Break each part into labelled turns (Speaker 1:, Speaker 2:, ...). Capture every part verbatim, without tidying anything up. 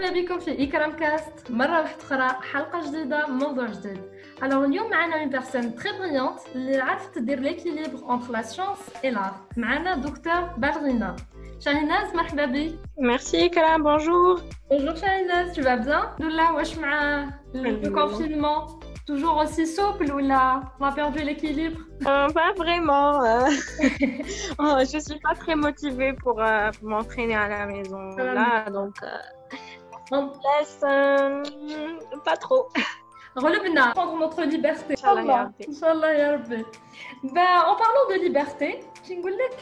Speaker 1: مرحبا بكم في إكرام كاست مرة واحدة أخرى حلقة جديدة موضوع جديد. Alors اليوم معنا une personne très brillante اللي عرفت تدير l'équilibre entre la science et l'art. معنا دكتور بالغينا. شاهيناز مرحبا بك.
Speaker 2: Merci Ikram, bonjour.
Speaker 1: Bonjour Shahinaz, tu vas bien? Alhamdoulilah, واش مع le confinement? Toujours aussi souple ou là, on a perdu l'équilibre?
Speaker 2: Euh, pas vraiment. Euh... oh, je suis pas très motivée pour, euh, pour m'entraîner à la maison là, donc euh, on laisse euh, pas trop.
Speaker 1: غلبنا prendre notre liberté.
Speaker 2: Inch'Allah,
Speaker 1: Inch'Allah ya Rabbi. Ben, en parlant de liberté, كي نقول لك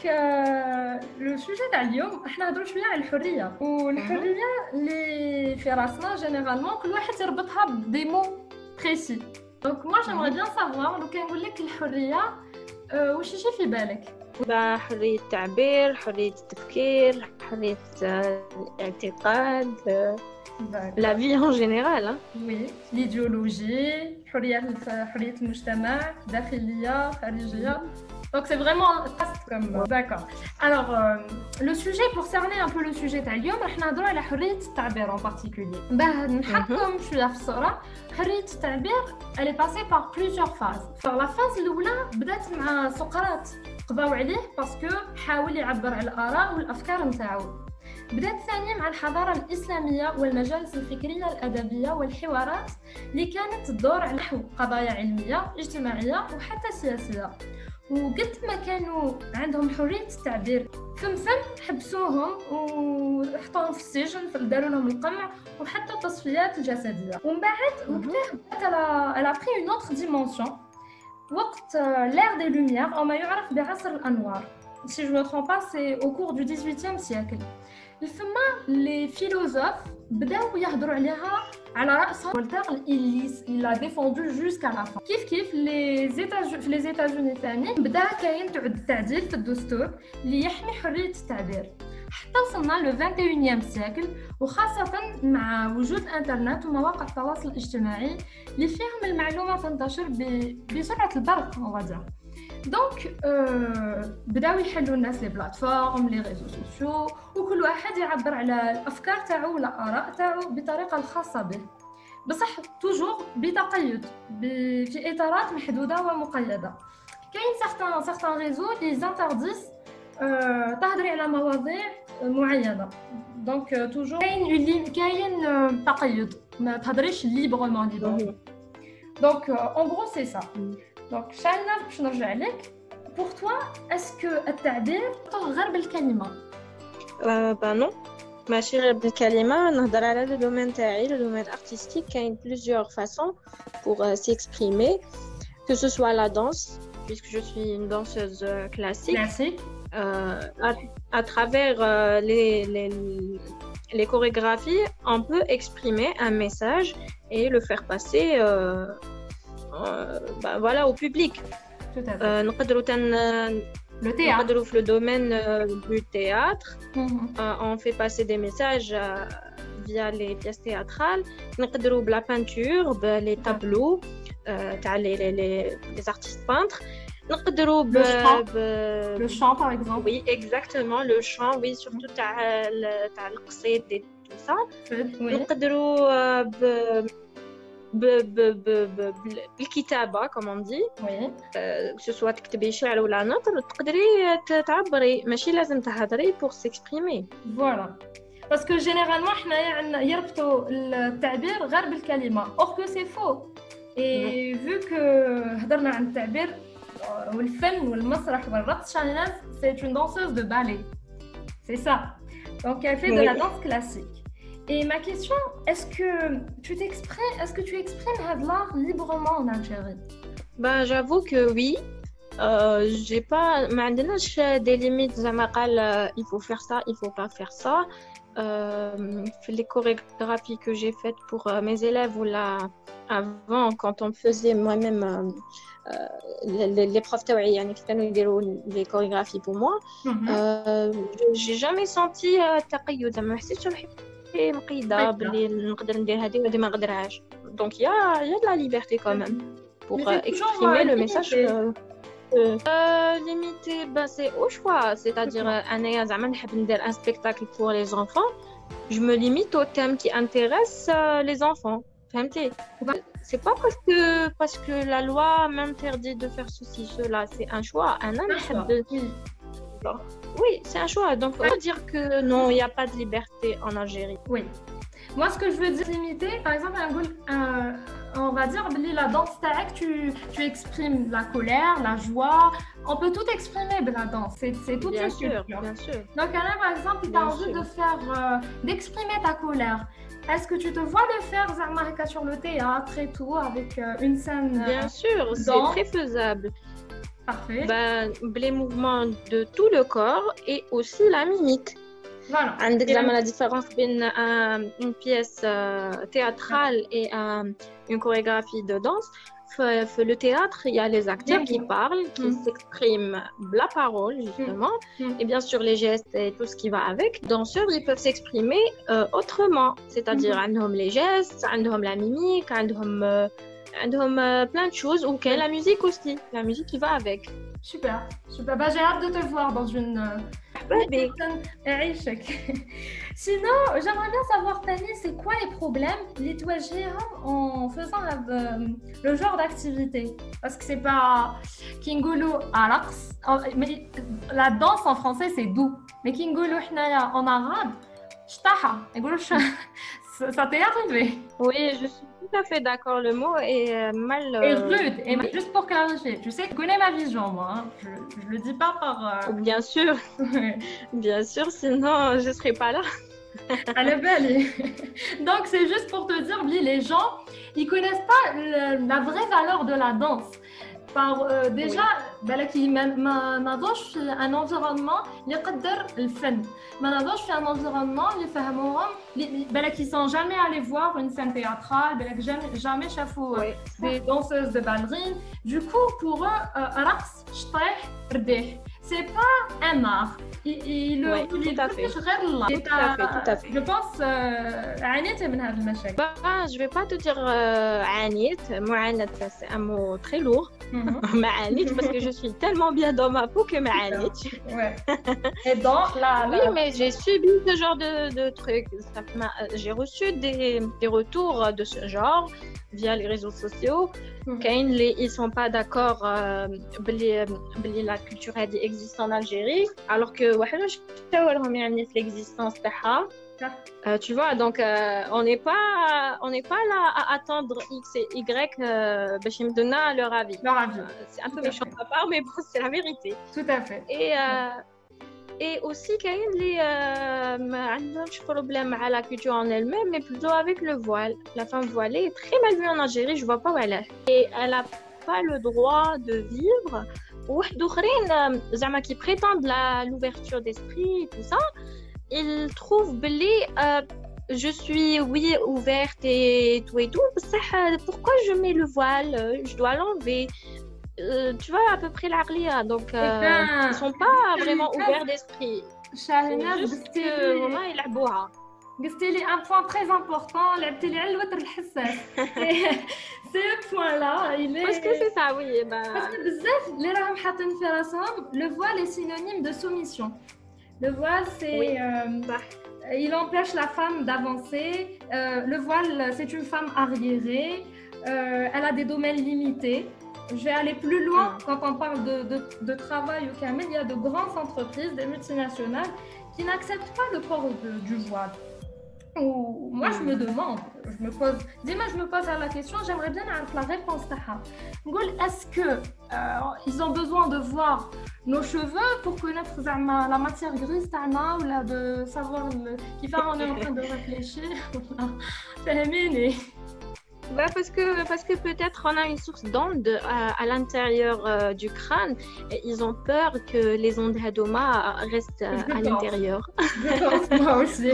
Speaker 1: لو سوجي تاع اليوم احنا نهضروا شويه على الحريه والحريه اللي في راسنا جينيرالمون كل واحد يربطها بدي مو بريسي. دونك moi j'aimerais bien savoir لو كان نقول لك الحريه واش يجي في بالك؟
Speaker 2: با حريه التعبير، حريه التفكير، حريه الاعتقاد، la vie en général hein.
Speaker 1: Oui, l'idéologie, حريه حريه المجتمع، داخليه، خارجيه. Donc c'est vraiment vaste comme d'accord. Alors euh, le sujet pour cerner un peu le sujet تاع اليوم راح نهضروا على حريه التعبير en particulier. باه نحطكم شويه في الصوره. حريه التعبير elle est passée par plusieurs phases. فلا فاز الاولى بدات مع سقراط قضاو عليه باسكو حاول يعبر على الاراء والافكار نتاعو. بدات ثانيا مع الحضاره الاسلاميه والمجالس الفكريه الادبيه والحوارات اللي كانت تدور على نحو قضايا علميه اجتماعيه وحتى سياسيه. وقد ما كانوا عندهم حريه التعبير ثم ثم حبسوهم وحطوهم في السجن، داروا لهم القمع وحتى التصفيات الجسديه. ومن بعد وقتها elle a pris une autre dimension وقت l'ère des lumières او ما يعرف بعصر الانوار. Si je ne me trompe pas, c'est au cours du dix-huitième siècle. ثم les philosophes بداو يهضروا عليها على رأسها فولتير اللي il a défendu jusqu'à la fin. كيف كيف les États في les États-Unis ثاني بدا كاين تعد التعديل في الدستور اللي يحمي حرية التعبير حتى وصلنا لو vingt et unième siècle، وخاصة مع وجود الانترنت ومواقع التواصل الاجتماعي اللي فيهم المعلومة تنتشر بسرعة البرق on va dire. دونك بداو يحلوا الناس لي بلاتفورم لي ريزو سوسيو وكل واحد يعبر على الافكار تاعو ولا الاراء تاعو بطريقه الخاصه به، بصح توجور بتقيد في اطارات محدوده ومقيده. كاين سيغتان سيغتان ريزو لي زانترديس تهضري على مواضيع معينه، دونك توجور كاين كاين تقيد، ما تهضريش ليبرمون ليبر. دونك اون غرو سي سا. دونك شاينا باش نرجع لك. pour toi est-ce que التعبير غير بالكلمه؟
Speaker 2: euh, bah non ماشي غير بالكلمه. نهضر على لو دومين تاعي، لو دومين ارتستيك. كاين plusieurs façons pour euh, s'exprimer, que ce soit la danse puisque je suis une danseuse euh, classique
Speaker 1: classique
Speaker 2: euh, à, à travers euh, les les les chorégraphies on peut exprimer un message et le faire passer euh, euh, bah, voilà au public. نقدروا تن
Speaker 1: le théâtre
Speaker 2: نقدروا في le domaine du théâtre
Speaker 1: mm-hmm.
Speaker 2: euh, on fait passer des messages euh, via les pièces théâtrales. نقدروا بلا peinture les tableaux تاع les les les artistes peintres. نقدروا ب
Speaker 1: le chant par exemple.
Speaker 2: Oui exactement, le chant, oui, surtout تاع تاع القصيد et tout ça. نقدروا ب ب ب ب بالكتابة comme on dit.
Speaker 1: oui
Speaker 2: que ce soit تكتبي شعر ولا نثر تقدري تعبري، ماشي لازم تهضري pour s'exprimer.
Speaker 1: voilà parce que généralement احنا يعني يربطوا التعبير غير بالكلمة or que c'est faux. et vu que هضرنا عن التعبير والفن والمسرح والرقص، شاهيناز c'est une danseuse de ballet, c'est ça, donc elle fait de la danse classique. Et ma question, est-ce que tu t'exprimes, est-ce que tu exprimes l'art librement en Algérie?
Speaker 2: Ben, j'avoue que oui. Euh, j'ai pas, ما عندناش des limites زعما قال il faut faire ça, il faut pas faire ça. Euh, les chorégraphies que j'ai faites pour euh, mes élèves ou là avant quand on faisait moi-même euh, les, les profs تاوعي يعني كانوا يديروا les chorégraphies pour moi.
Speaker 1: Mm-hmm.
Speaker 2: euh, j'ai jamais senti تقيد، زعما ما حسيتش روحي مقيده باللي نقدر ندير هذه وهذه ما نقدرهاش. donc il y a il y a de la liberté quand même pour euh, exprimer le message que euh, limité, bah c'est au choix, c'est-à-dire انايا زعما نحب ندير un spectacle pour les enfants je me limite aux thèmes qui intéressent euh, les enfants. فهمتي؟ C'est pas parce que parce que la loi m'interdit de faire ceci cela, c'est un choix. Un homme oui, c'est un choix. Donc, on peut dire que non, il n'y a pas de liberté en Algérie.
Speaker 1: Oui. Moi, ce que je veux dire, limiter, par exemple, un, on va dire, la danse tac, tu, tu exprimes la colère, la joie. On peut tout exprimer de la danse. C'est, c'est toute
Speaker 2: bien
Speaker 1: une
Speaker 2: sûr,
Speaker 1: culture.
Speaker 2: Bien sûr.
Speaker 1: Donc, là, par exemple, tu as envie de faire, euh, d'exprimer ta colère. Est-ce que tu te vois le faire, Zarmarika, sur le théâtre et tout, avec euh, une scène euh,
Speaker 2: Bien sûr, c'est très faisable.
Speaker 1: Parfait.
Speaker 2: Ben, les mouvements de tout le corps et aussi la mimique.
Speaker 1: Voilà.
Speaker 2: عندك زعما la différence entre une pièce euh, théâtrale et euh, une chorégraphie de danse. Dans le théâtre, il y a les acteurs qui parlent, qui mm. s'expriment la parole, justement, mm. et bien sûr les gestes et tout ce qui va avec. Les danseurs, ils peuvent s'exprimer euh, autrement, c'est-à-dire mm. عندهم les gestes, عندهم la mimique, عندهم euh, عندهم euh, plein de choses, ou okay, la musique aussi, la musique qui va avec.
Speaker 1: Super, super. Bah, j'ai hâte de te voir dans une...
Speaker 2: Ouais,
Speaker 1: Sinon, j'aimerais bien savoir, Tani, c'est quoi les problèmes les en faisant la, euh, le genre d'activité? Parce que c'est pas Kingulu Araks. Mais la danse en français, c'est doux. Mais Kingulu en arabe, Shtaha. Ça t'est arrivé?
Speaker 2: Oui, je suis tout à fait d'accord. Le mot est euh, mal... Euh...
Speaker 1: Et rude. Et juste pour clarifier, tu sais, je connais ma vision, moi. Hein. Je, je le dis pas par... Euh...
Speaker 2: Bien sûr. Bien sûr, sinon je serais pas là.
Speaker 1: Elle est belle. Donc, c'est juste pour te dire, les gens, ils connaissent pas le, la vraie valeur de la danse. Par, euh, déjà, oui. ما نضوش في un environnement يقدر الفن. ما نضوش في un environnement اللي فهموهم بالك ils sont jamais allés voir une scène théâtrale, بالك jamais jamais شافوا oui. des danseuses de ballerines. Du coup, pour eux, رقص شطيح رديح. C'est pas un art. Il, il,
Speaker 2: oui, il tout, à fait.
Speaker 1: tout à fait. Tout à fait. Je pense عانيت من هذا المشاكل.
Speaker 2: Bah, je vais pas te dire عانيت. معاناة, c'est un mot très lourd. معانيت parce que je suis tellement bien dans ma peau que معانيت.
Speaker 1: Ouais. Et dans la, la...
Speaker 2: Oui, mais j'ai subi ce genre de, de trucs. Ça j'ai reçu des, des retours de ce genre via les réseaux sociaux. Mm-hmm. Les, ils sont pas d'accord euh, la culture existe en Algérie, alors que l'existence euh, tu vois, donc euh, on n'est pas on n'est pas là à attendre X et Y euh, me donner leur avis.
Speaker 1: Leur avis.
Speaker 2: Euh, c'est un peu méchant de ma part, mais bon, c'est la vérité.
Speaker 1: Tout à fait.
Speaker 2: Et euh, et aussi كاين les ما عندهمش problème à la culture en elle-même, mais plutôt avec le voile. La femme voilée est très mal vue en Algérie, je vois pas où elle est. Et elle a pas le droit de vivre. واحد اخرين زعما qui prétendent la l'ouverture d'esprit et tout ça, ils trouvent بلي euh, je suis oui ouverte et tout et tout, pourquoi je mets le voile, je dois l'enlever. Euh, tu vois à peu près l'Arlia, donc euh, ben, ils sont pas vraiment ouverts d'esprit. Juste que والله يلعبوها.
Speaker 1: قلتي لي un point très important, لعبتي لي على الوتر الحساس. Ce point-là, il est...
Speaker 2: Parce que c'est ça, oui. Bah...
Speaker 1: Parce que بزاف اللي راهم حاطين في راسهم, le voile est synonyme de soumission. Le voile, c'est...
Speaker 2: Oui.
Speaker 1: Euh, bah, il empêche la femme d'avancer. Euh, le voile, c'est une femme arriérée. Euh, elle a des domaines limités. Je vais aller plus loin mm. quand on parle de, de, de travail au Kamel. Il y a de grandes entreprises, des multinationales, qui n'acceptent pas le port de, du voile. Ou, moi, je me demande, je me pose, dis-moi, je me pose la question, j'aimerais bien avoir la réponse. Est-ce que euh, ils ont besoin de voir nos cheveux pour connaître la matière grise ou là, de savoir qui fait on est en train de réfléchir?
Speaker 2: Bah parce que, parce que peut-être on a une source d'ondes à, à l'intérieur euh, du crâne et ils ont peur que les ondes hadoma restent à, à l'intérieur.
Speaker 1: Je pense, moi aussi.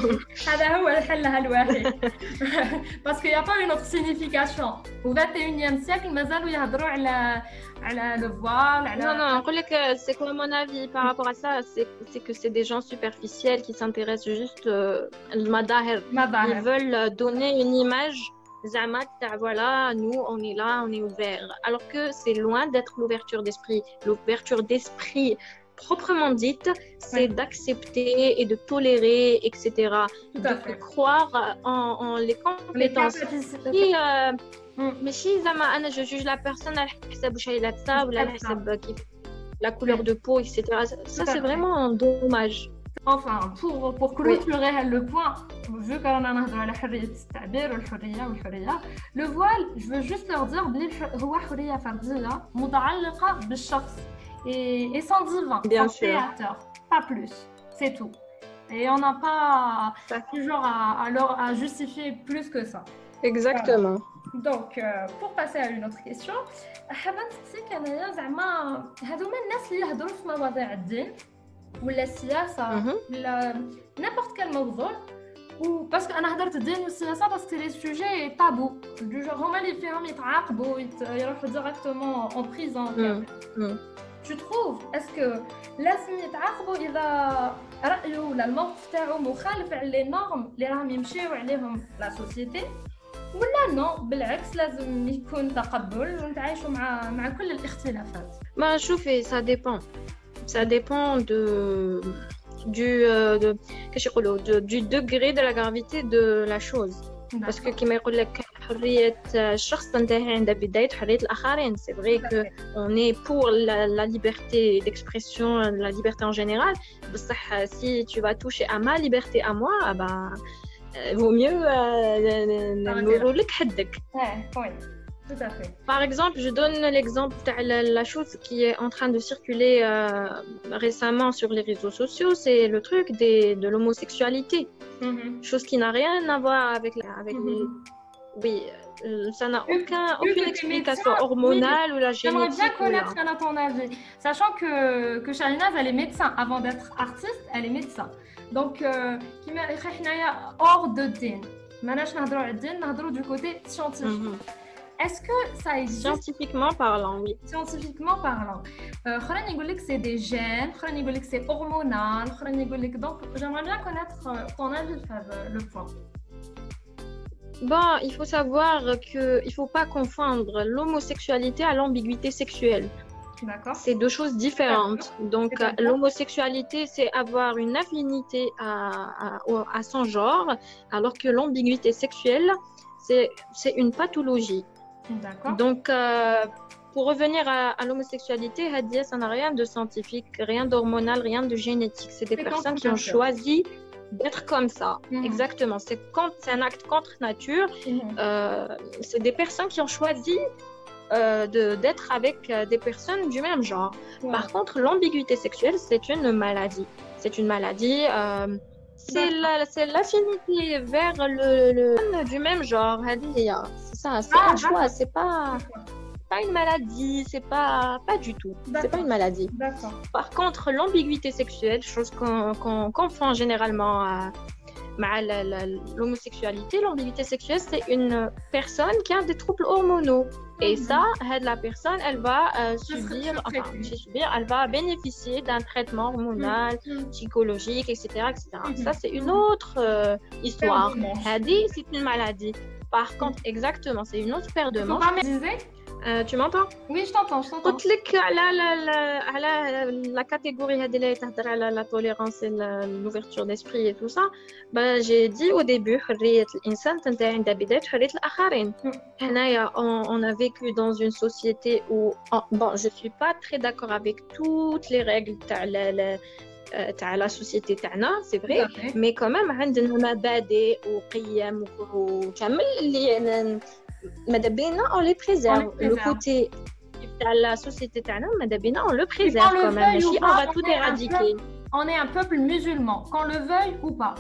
Speaker 1: Parce qu'il n'y a pas une autre signification. Au vingt et unième siècle, مازالوا يهضروا على على le voile. على...
Speaker 2: Non, non, c'est quoi mon avis par rapport à ça, c'est, c'est que c'est des gens superficiels qui s'intéressent juste euh, al madahir. Ils veulent donner une image. Zama, voilà, nous, on est là, on est ouvert. Alors que c'est loin d'être l'ouverture d'esprit. L'ouverture d'esprit proprement dite, c'est
Speaker 1: Oui.
Speaker 2: d'accepter et de tolérer, et cetera.
Speaker 1: Tout
Speaker 2: De
Speaker 1: à fait.
Speaker 2: croire en, en les
Speaker 1: Les
Speaker 2: compétences.
Speaker 1: capacités.
Speaker 2: Et, euh,
Speaker 1: Mm.
Speaker 2: ماشي زعما انا je juge la personne على حسب واش هي لابسه ولا على
Speaker 1: C'est ça.
Speaker 2: حسب كيف la couleur de peau, et cetera. Ça,
Speaker 1: Tout à
Speaker 2: c'est
Speaker 1: fait.
Speaker 2: vraiment dommage.
Speaker 1: Enfin, pour, pour clôturer le point, vu qu'on a la حرية التعبير والحرية والحرية, le voile, je veux juste leur dire بلي هو حرية فردية متعلقة بالشخص et, et sans divin,
Speaker 2: Bien
Speaker 1: sans
Speaker 2: sûr.
Speaker 1: créateur, pas plus, c'est tout. Et on n'a pas
Speaker 2: Ça-
Speaker 1: toujours à, à, leur- à justifier plus que ça.
Speaker 2: Exactement.
Speaker 1: Donc, euh, pour passer à une autre question, حابة نسقسيك أنايا زعما هذوما الناس اللي يهضروا في مواضيع الدين ولا السياسة
Speaker 2: Mhm.
Speaker 1: ولا n'importe quel موضوع و باسكو أنا هضرت الدين والسياسة باسكو سي لي سوجي تابو دو جور هما اللي فيهم يتعاقبوا يت... يروحوا ديريكتومون اون بريزون.
Speaker 2: Mm. Mm.
Speaker 1: Tu trouves est-ce que لازم يتعاقبوا إذا رأيه ولا الموقف تاعو مخالف على لي نورم اللي راهم يمشيو عليهم لا سوسيتي ولا نو بالعكس لازم يكون تقبل ونتعايشوا مع مع كل الاختلافات؟
Speaker 2: Bah, شوفي, ça dépend. Ça dépend de du euh, de كيش يقولوا de, du degré de la gravité de la chose. Parce que كيما يقول لك حرية الشخص تنتهي عند بداية حرية الآخرين. C'est vrai que on est pour la, la liberté d'expression, la liberté en général. بصح si tu vas toucher à ma liberté à moi, ah ben euh, vaut mieux نقولوا لك حدك.
Speaker 1: Ouais, oui, tout à fait.
Speaker 2: Par exemple, je donne l'exemple de la, la chose qui est en train de circuler euh, récemment sur les réseaux sociaux, c'est le truc des, de l'homosexualité.
Speaker 1: Mm-hmm.
Speaker 2: Chose qui n'a rien à voir avec, la, avec
Speaker 1: Mm-hmm.
Speaker 2: les... Oui, euh, ça n'a
Speaker 1: Vu-
Speaker 2: aucun,
Speaker 1: vu
Speaker 2: aucune
Speaker 1: que t'es
Speaker 2: explication
Speaker 1: médecin,
Speaker 2: hormonale ou la
Speaker 1: J'aimerais bien
Speaker 2: génétique. ou la-
Speaker 1: connaître à ton avis, sachant que, que Shahinaz, elle est médecin. Avant d'être artiste, elle est médecin. Donc, euh, كيما حنايا hors de din. ماناش نهضروا على الدين نهضروا du côté scientifique.
Speaker 2: Mhm.
Speaker 1: Est-ce que ça existe
Speaker 2: Scientifiquement parlant, oui.
Speaker 1: scientifiquement parlant? Euh, خلينا نقول لك c'est des gènes, خلينا نقول لك c'est hormonal, خلينا نقول لك donc j'aimerais bien connaître euh, ton avis sur le point.
Speaker 2: Bon, il faut savoir qu'il ne faut pas confondre l'homosexualité à l'ambiguïté sexuelle.
Speaker 1: D'accord.
Speaker 2: C'est deux choses différentes. Donc,
Speaker 1: C'est-à-dire
Speaker 2: euh, l'homosexualité, c'est avoir une affinité à, à, au- à son genre, alors que l'ambiguïté sexuelle, c'est c'est une pathologie.
Speaker 1: D'accord.
Speaker 2: Donc, euh, pour revenir à, à l'homosexualité, Hadia, ça n'a rien de scientifique, rien d'hormonal, rien de génétique. C'est des
Speaker 1: C'est
Speaker 2: personnes
Speaker 1: contre
Speaker 2: qui ont
Speaker 1: nature.
Speaker 2: choisi d'être comme ça.
Speaker 1: Mhm.
Speaker 2: Exactement. C'est contre- c'est un acte contre nature.
Speaker 1: Mhm.
Speaker 2: Euh, c'est des personnes qui ont choisi euh, de- d'être avec euh, des personnes du même genre.
Speaker 1: Ouais.
Speaker 2: Par contre, l'ambiguïté sexuelle, c'est une maladie. C'est une maladie. euh, c'est la- c'est l'affinité vers le, le du même genre. Hadia. C'est ça. C'est
Speaker 1: Ah,
Speaker 2: un choix.
Speaker 1: d'accord.
Speaker 2: C'est pas pas une maladie. C'est pas pas du tout. C'est pas
Speaker 1: D'accord.
Speaker 2: une maladie.
Speaker 1: D'accord.
Speaker 2: Par contre, l'ambiguïté sexuelle, chose qu'on qu'on confond généralement à مع la- la- l'homosexualité, l'ambiguïté sexuelle, c'est une personne qui a des troubles hormonaux. Et
Speaker 1: Mhm.
Speaker 2: ça, elle- la personne, elle va euh,
Speaker 1: serait
Speaker 2: subir, enfin,
Speaker 1: sous-traitée.
Speaker 2: subir, elle va bénéficier d'un traitement hormonal,
Speaker 1: Mhm.
Speaker 2: psychologique, et cetera, et cetera.
Speaker 1: Mhm.
Speaker 2: Ça, c'est une autre euh, histoire.
Speaker 1: Paire de manches.
Speaker 2: Hadi, c'est une maladie. Par contre, exactement, c'est une autre paire de
Speaker 1: Faut
Speaker 2: manches.
Speaker 1: pas m'aider.
Speaker 2: Euh, tu m'entends?
Speaker 1: Oui, je t'entends, je t'entends.
Speaker 2: قلت لك على لا لا على لا كاتيجوري هذه اللي تهضر على لا توليرانس l'ouverture d'esprit et tout ça. Ben, j'ai dit au début حرية الإنسان تنتهي عند بداية حرية الآخرين. حنايا on, on a vécu dans une société où oh, bon, je suis pas très d'accord avec toutes les règles تاع la, la, euh, تاع la société تاعنا, c'est vrai.
Speaker 1: Tout à fait.
Speaker 2: Mais quand même عندنا مبادئ وقيم وكامل اللي ماذا بينا on les préserve.
Speaker 1: On les
Speaker 2: Le
Speaker 1: préserve.
Speaker 2: côté تاع la société تاعنا ماذا بينا on le
Speaker 1: qu'on
Speaker 2: préserve
Speaker 1: le
Speaker 2: quand même.
Speaker 1: veuille ou
Speaker 2: ماشي on
Speaker 1: pas,
Speaker 2: va tout
Speaker 1: on est un
Speaker 2: éradiquer.
Speaker 1: On est un peuple musulman, qu'on le veuille ou pas.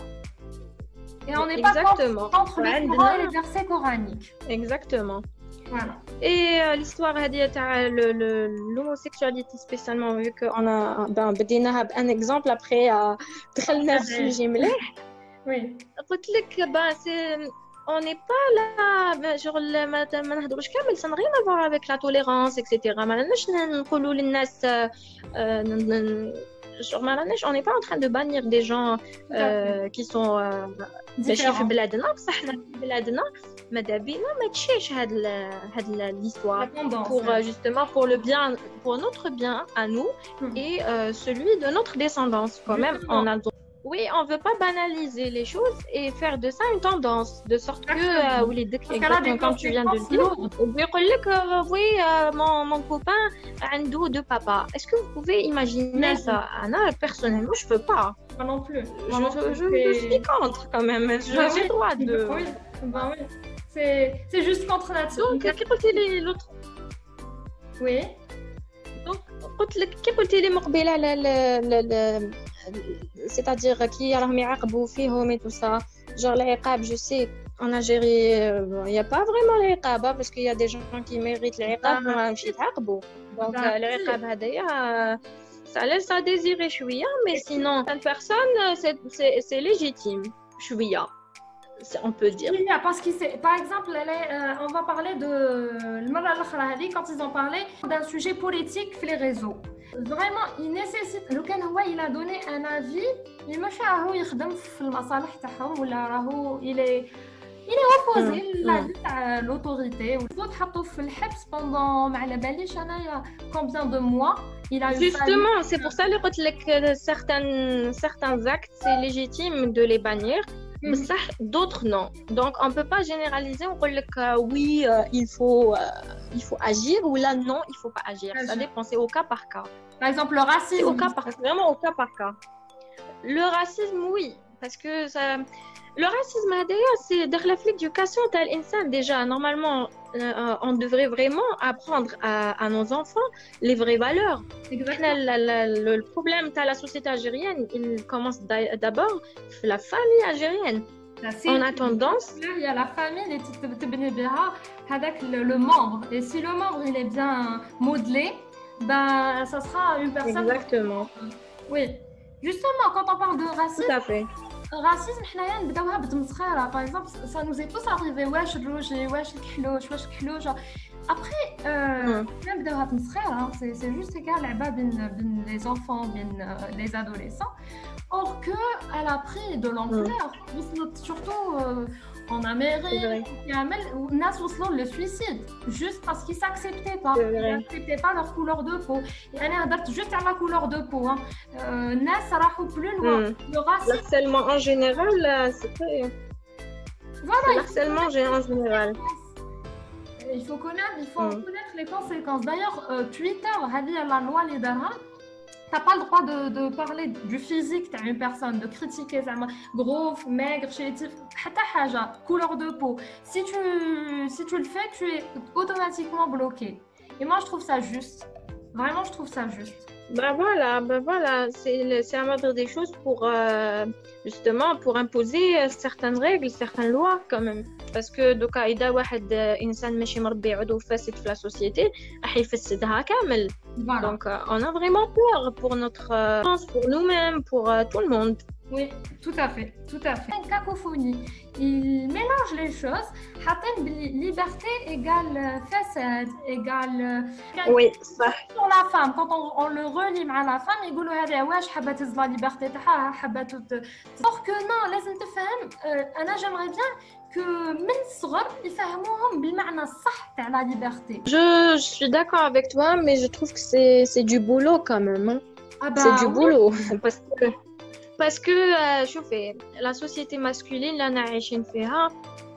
Speaker 1: Et on n'est pas contre,
Speaker 2: Exactement.
Speaker 1: contre le
Speaker 2: Ouais,
Speaker 1: Coran et
Speaker 2: non.
Speaker 1: les versets coraniques.
Speaker 2: Exactement.
Speaker 1: Voilà.
Speaker 2: Et euh, l'histoire هذه تاع le- le- l'homosexualité spécialement, vu qu'on a ben بديناها بان exemple après euh, دخلنا في السوجي مليح.
Speaker 1: Oui.
Speaker 2: قلت لك ben c'est on n'est pas là ben, genre ال- ما ما نهضروش كامل, ça n'a rien à voir avec la tolérance et cetera. ما لناش نقولوا للناس آه، آه، ن- ن- genre ما راناش on n'est pas en train de bannir des gens euh, qui sont ماشي في بلادنا بصح حنا في بلادنا ماذا بينا ما تشيش هاد ال هاد l'histoire pour euh, justement pour le bien pour notre bien à nous mm. et euh, celui de notre descendance quand même on a le droit. Oui, on veut pas banaliser les choses et faire de ça une tendance, de sorte que, euh, oui, exactement comme tu viens de le dire, on peut dire que, oui, euh, mon, mon copain a un dos de papa. Est-ce que vous pouvez imaginer Merci. ça? Anna, personnellement, je peux pas.
Speaker 1: Moi non plus.
Speaker 2: Moi je, non plus je, je suis contre quand même. J'ai bah oui. droit de...
Speaker 1: Oui, bah oui. C'est, c'est juste contre nature.
Speaker 2: Donc, qu'est-ce que l'autre?
Speaker 1: Oui.
Speaker 2: Donc, قلت لك كي قلتي لي مقبله لا لا لا c'est-à-dire كي راهم يعاقبوا فيهم et tout ça genre العقاب je sais en Algérie il y a pas vraiment العقاب parce qu'il y a des gens qui méritent العقاب ما مشي يتعاقبوا donc العقاب هذايا ça laisse à désirer شويه mais sinon une personne c'est c'est c'est légitime شويه on peut dire.
Speaker 1: Oui, parce que c'est, par exemple, euh, on va parler de le quand ils ont parlé d'un sujet politique sur les réseaux. Vraiment, il nécessite. Le Canada, il a donné un avis. Il me fait un il il est il est opposé à l'autorité. Les autres ont fait le H E P S pendant combien de mois. Il a
Speaker 2: Justement, c'est pour ça que certains certains actes, c'est légitime de les bannir. Mais ça, d'autres non. Donc, on ne peut pas généraliser. On peut dire que oui, euh, il, faut, euh, il faut agir ou là, non, il ne faut pas agir. agir. Ça dépend, c'est au cas par cas.
Speaker 1: Par exemple, le racisme.
Speaker 2: C'est au cas par cas, vraiment au cas par cas. Le racisme, oui. Parce que ça... le racisme, d'ailleurs, c'est dans l'éducation de l'insan. Déjà, normalement, euh, on devrait vraiment apprendre à, à nos enfants les vraies valeurs.
Speaker 1: Exactement.
Speaker 2: Le, le, le, le problème de la société algérienne, il commence d'abord la famille algérienne. On a tendance...
Speaker 1: Il y a la famille, le, le membre. Et si le membre il est bien modelé, ben, ça sera une personne...
Speaker 2: Exactement.
Speaker 1: Oui. Justement, quand on parle de racisme...
Speaker 2: Tout à fait.
Speaker 1: الراسيزم حنايا نبداوها بالتمسخيره باغ اكزومبل سا نوز اي توس اريفي واش الروجي واش الكحلوش واش الكحلوش ابخي حنا نبداوها بالتمسخيره سي سي جوست كاع لعبه بين بين لي زونفون بين لي ادوليسون اور كو elle a pris de l'ampleur وصلت surtout en Amérique يعمل الناس وصلوا للسويسيد juste parce qu'ils s'acceptaient pas ils n'acceptaient pas leur couleur de peau يعني هضرت juste على la couleur de peau الناس راحوا plus loin le racisme
Speaker 2: l'harcèlement en général c'est très voilà l'harcèlement en général
Speaker 1: il faut connaître il faut connaître les conséquences d'ailleurs Twitter هذه la loi اللي دارها t'as pas le droit de, de parler du physique d'une personne, de critiquer زعما gros, maigre, chétif, حتى حاجة, couleur de peau. Si tu, si tu le fais, tu es automatiquement bloqué. Et moi, je trouve ça juste. Vraiment, je trouve ça juste.
Speaker 2: Bah voilà, bah voilà, c'est, c'est à moindre des choses pour euh, justement pour imposer certaines règles, certaines lois quand même. Parce que donc إذا واحد إنسان ماشي مربي عضو فاسد في la société راح يفسدها كامل.
Speaker 1: Voilà.
Speaker 2: Donc euh, on a vraiment peur pour notre euh, pour nous-mêmes, pour euh, tout le monde.
Speaker 1: Oui, tout à fait, tout à fait. Une cacophonie. Il mélange les choses. Liberté égale façade, égale...
Speaker 2: Oui, ça.
Speaker 1: Pour la femme, quand on, on le relie à la femme, ils disent « Ouais, je veux la liberté, je veux tout... » Or que non, لازم تفهم, أنا j'aimerais bien que من الصغر يفهموهم بالمعنى الصح تاع la liberté.
Speaker 2: Je, je suis d'accord avec toi, mais je trouve que c'est, c'est du boulot quand même. Hein.
Speaker 1: Ah bah,
Speaker 2: c'est du
Speaker 1: oui.
Speaker 2: boulot. Parce que... parce que شوفي la société masculine اللي أنا عايشين فيها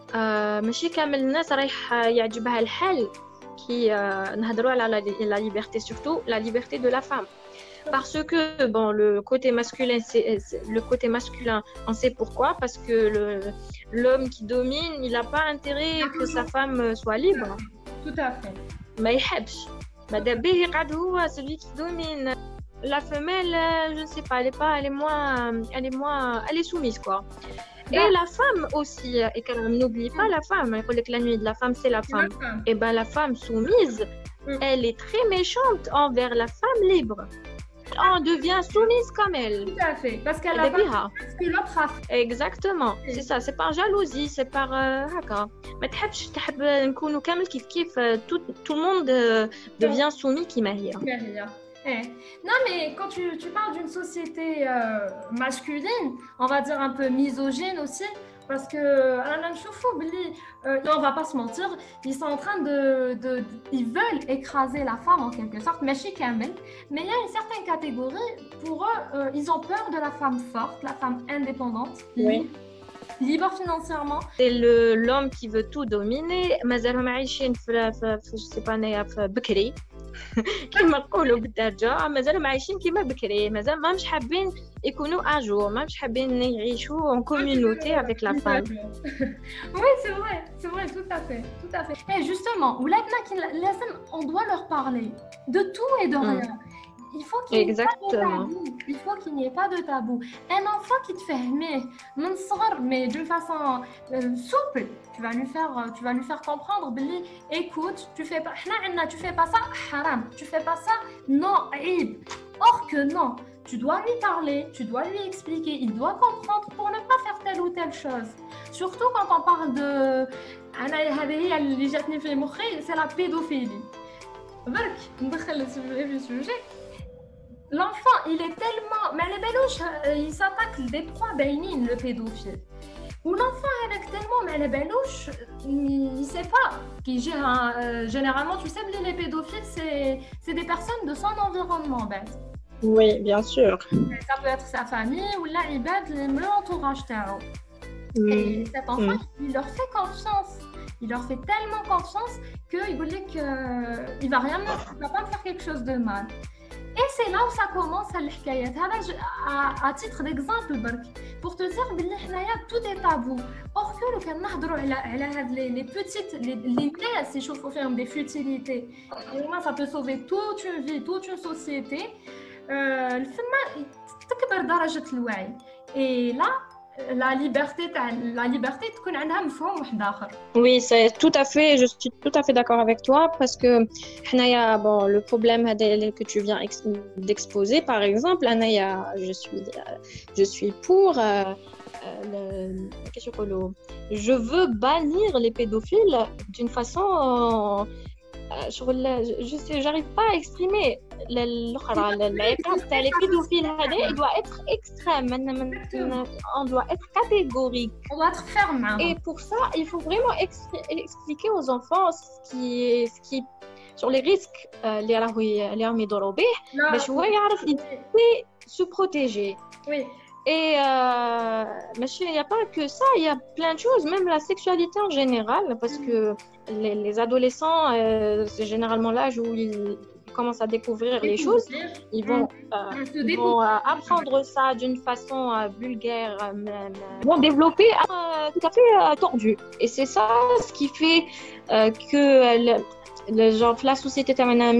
Speaker 2: ماشي كامل الناس رايح يعجبها الحال كي نهضروا على la liberté, surtout la liberté de la femme. Parce que bon, le côté masculin, c'est, c'est le côté masculin, on sait pourquoi, parce que le, l'homme qui domine, il n'a pas intérêt que sa femme soit libre.
Speaker 1: Tout à fait.
Speaker 2: ما يحبش. ماذا به يقعد هو celui qui domine. La femelle, je ne sais pas, elle est pas, elle est moins, elle est moins, elle est soumise quoi. Et bah. La femme aussi, et qu'on n'oublie pas la femme. Il faut que la nuit de la femme, c'est la femme. femme. Et ben la femme soumise, mm. elle est très méchante envers la femme libre. On devient soumise comme elle.
Speaker 1: Tout à fait, parce qu'elle a pas ce que l'autre a fait.
Speaker 2: Exactement, oui. C'est ça, c'est par jalousie, c'est par هكا. ما تحبش تحب نكونوا كامل كيف كيف tout tout le monde devient soumis كيما هي.
Speaker 1: Eh. Non, mais quand tu, tu parles d'une société euh, masculine, on va dire un peu misogyne aussi, parce que Alain Choufou, euh, on va pas se mentir, ils sont en train de, de, de- ils veulent écraser la femme en quelque sorte, mais chez Kamel. Mais il y a une certaine catégorie, pour eux, euh, ils ont peur de la femme forte, la femme indépendante,
Speaker 2: Oui.
Speaker 1: libre, libre financièrement.
Speaker 2: C'est le l'homme qui veut tout dominer. مازالهم عايشين في في في je sais pas أنايا في بكري كما نقولوا بالدارجة مازالهم عايشين كيما بكري مازال ما مش حابين يكونوا اجور ما مش حابين يعيشوا en communauté avec la femme.
Speaker 1: Oui, c'est vrai, c'est vrai, tout à fait, tout à fait. Et justement, ولادنا كي لازم on doit leur parler de tout et de rien. Il faut qu'il n'y ait pas de tabou. Il faut qu'il n'y ait pas de tabou. Un enfant qui te fait aimer, mais d'une façon euh, souple, tu vas lui faire, tu vas lui faire comprendre, Billy, écoute, tu fais pas, tu fais pas ça, haram, tu fais pas ça, non, aïb. Or que non, tu dois lui parler, tu dois lui expliquer, il doit comprendre pour ne pas faire telle ou telle chose. Surtout quand on parle de, c'est la pédophilie. برك ندخل السوجي في السوجي. L'enfant, il est tellement... Mais les belouches, il s'attaque des proies bénines, le pédophile. Ou l'enfant, avec tellement... Mais les belouches, il ne sait pas. Qui gère un, euh, généralement, tu sais, les pédophiles, c'est, c'est des personnes de son environnement, ben.
Speaker 2: Oui, bien sûr.
Speaker 1: Ça peut être sa famille ou là, il bête l'entourage. Mm. Et cet enfant, mm. il leur fait confiance. Il leur fait tellement confiance qu'il dit qu'il ne va rien, il va pas me faire quelque chose de mal. Et c'est là où ça commence à l'hikayat. À, à titre d'exemple, pour te dire que tout est tabou. Or que le cas les, les petites, les, les pièces, si je faut faire des futilités, ça peut sauver toute une vie, toute une société. Euh, Et là, la liberté, la liberté تكون عندها مفهوم واحد آخر.
Speaker 2: Oui, c'est tout à fait, je suis tout à fait d'accord avec toi parce que حنايا bon le problème que tu viens d'exposer par exemple, أنايا je suis je suis pour euh, le, qu'est-ce que je je veux bannir les pédophiles d'une façon euh, je sais j'arrive pas à exprimer l'autre l'épave تاع les pédophiles هذا il doit être extrême on doit être catégorique
Speaker 1: on doit être ferme
Speaker 2: et pour ça il faut vraiment expliquer aux enfants ce qui est ce qui sur les risques اللي راهو اللي راهم يضروا به باش هو يعرف se protéger.
Speaker 1: Oui.
Speaker 2: Et euh, il n'y a pas que ça, il y a plein de choses, même la sexualité en général, parce que les, les adolescents, euh, c'est généralement l'âge où ils, ils commencent à découvrir les choses. Ils vont, euh, ils vont euh, apprendre ça d'une façon euh, vulgaire, euh, ils vont développer euh, tout à fait euh, tordu. Et c'est ça ce qui fait euh, que le, le genre la société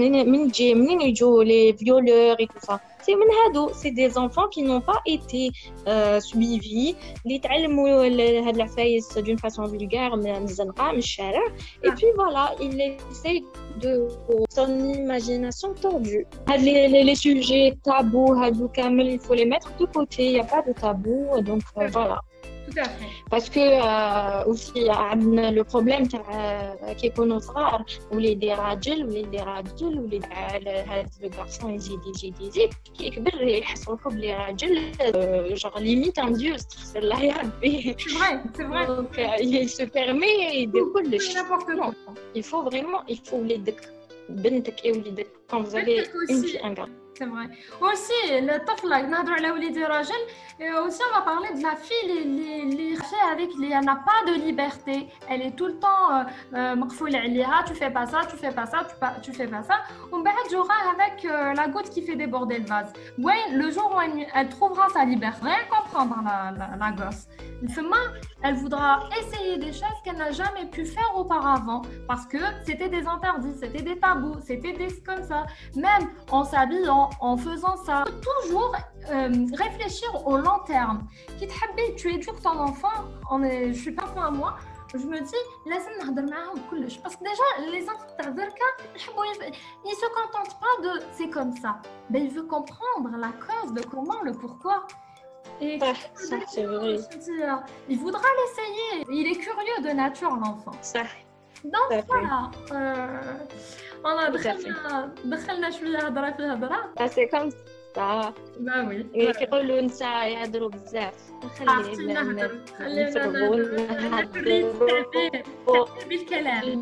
Speaker 2: les violeurs et tout ça. C'est c'est des enfants qui n'ont pas été euh, suivis, les d'une façon vulgaire, et puis voilà, ils essayent de son imagination tordue. Les, les, les sujets tabous, il faut les mettre de côté, il n'y a pas de tabou, donc euh, voilà.
Speaker 1: Tout à fait.
Speaker 2: Parce que euh, aussi le problème qui est qu'on صغار وليدي راجل وليدي راجل وليد هذا الgarçon يزيد يزيد يزيد كي يكبر يحس روحو بلي راجل genre limite un dieu استغفر الله يا ربي.
Speaker 1: C'est vrai, c'est vrai.
Speaker 2: Donc il se permet يدير كلش.
Speaker 1: N'importe quoi.
Speaker 2: Il faut vraiment il faut وليدك بنتك et وليدك quand vous avez une fille un garçon.
Speaker 1: C'est vrai. Aussi, le طفل نهضروا على وليدي راجل aussi on va parler de la fille les les avec les elle n'a pas de liberté, elle est tout le temps مقفول عليها, tu fais pas ça, tu fais pas ça, tu pas tu fais pas ça. On بعد jouera avec euh, la goutte qui fait déborder le vase. Ouais, le jour où elle, elle trouvera sa liberté, rien comprendre la la, la gosse. Elle voudra essayer des choses qu'elle n'a jamais pu faire auparavant parce que c'était des interdits, c'était des tabous, c'était des comme ça. Même en s'habillant, en faisant ça, toujours euh, réfléchir au long terme. Quitte à tu éduques ton enfant, on est, je suis pas fan à moi. Je me dis, laisse-moi نهضر معاهم كلش parce que déjà les enfants تاع دركا ils se contentent pas de c'est comme ça. Ben il veut comprendre la cause, le comment, le pourquoi. Et
Speaker 2: ah, ça, c'est vrai.
Speaker 1: Il voudra l'essayer. Il est curieux de nature, l'enfant.
Speaker 2: Ça.
Speaker 1: دونك
Speaker 2: صافي.
Speaker 1: فوالا انا
Speaker 2: Tout à fait.
Speaker 1: دخلنا دخلنا شويه هضره في هضره.
Speaker 2: Ah, c'est comme ça.
Speaker 1: با وي
Speaker 2: كيقولوا النساء يهضروا بزاف.
Speaker 1: عرفتي
Speaker 2: خلينا
Speaker 1: نهضر خلينا
Speaker 2: نفرغوا
Speaker 1: نهضر
Speaker 2: نهضروا
Speaker 1: التعبير بالكلام.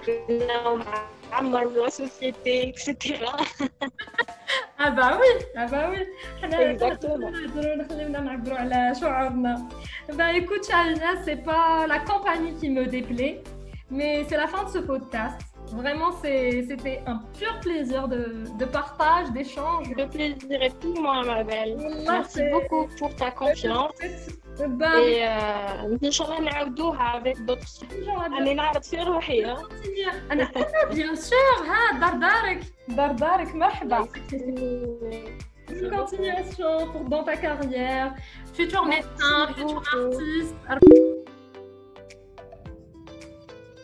Speaker 2: نعمر لا سوسيتي اكسيتيرا.
Speaker 1: اه با وي اه با وي حنا
Speaker 2: Exactement.
Speaker 1: نهضروا خلينا نعبروا على شعورنا. Bah écoute Charina, c'est pas la compagnie qui me déplaît, mais c'est la fin de ce podcast. Vraiment, c'est- c'était un pur plaisir de, de partage, d'échange.
Speaker 2: Le plaisir est tout moi, ma belle.
Speaker 1: Wallah,
Speaker 2: Merci
Speaker 1: c'est-
Speaker 2: beaucoup pour ta confiance.
Speaker 1: Bah,
Speaker 2: Et euh, إن شاء الله نعاودوها avec d'autres. أنا نعرض في روحي. ها.
Speaker 1: أنا أنا bien sûr ها دار دارك دار دارك مرحبا. Une continuation pour dans ta carrière, futur médecin, futur artiste.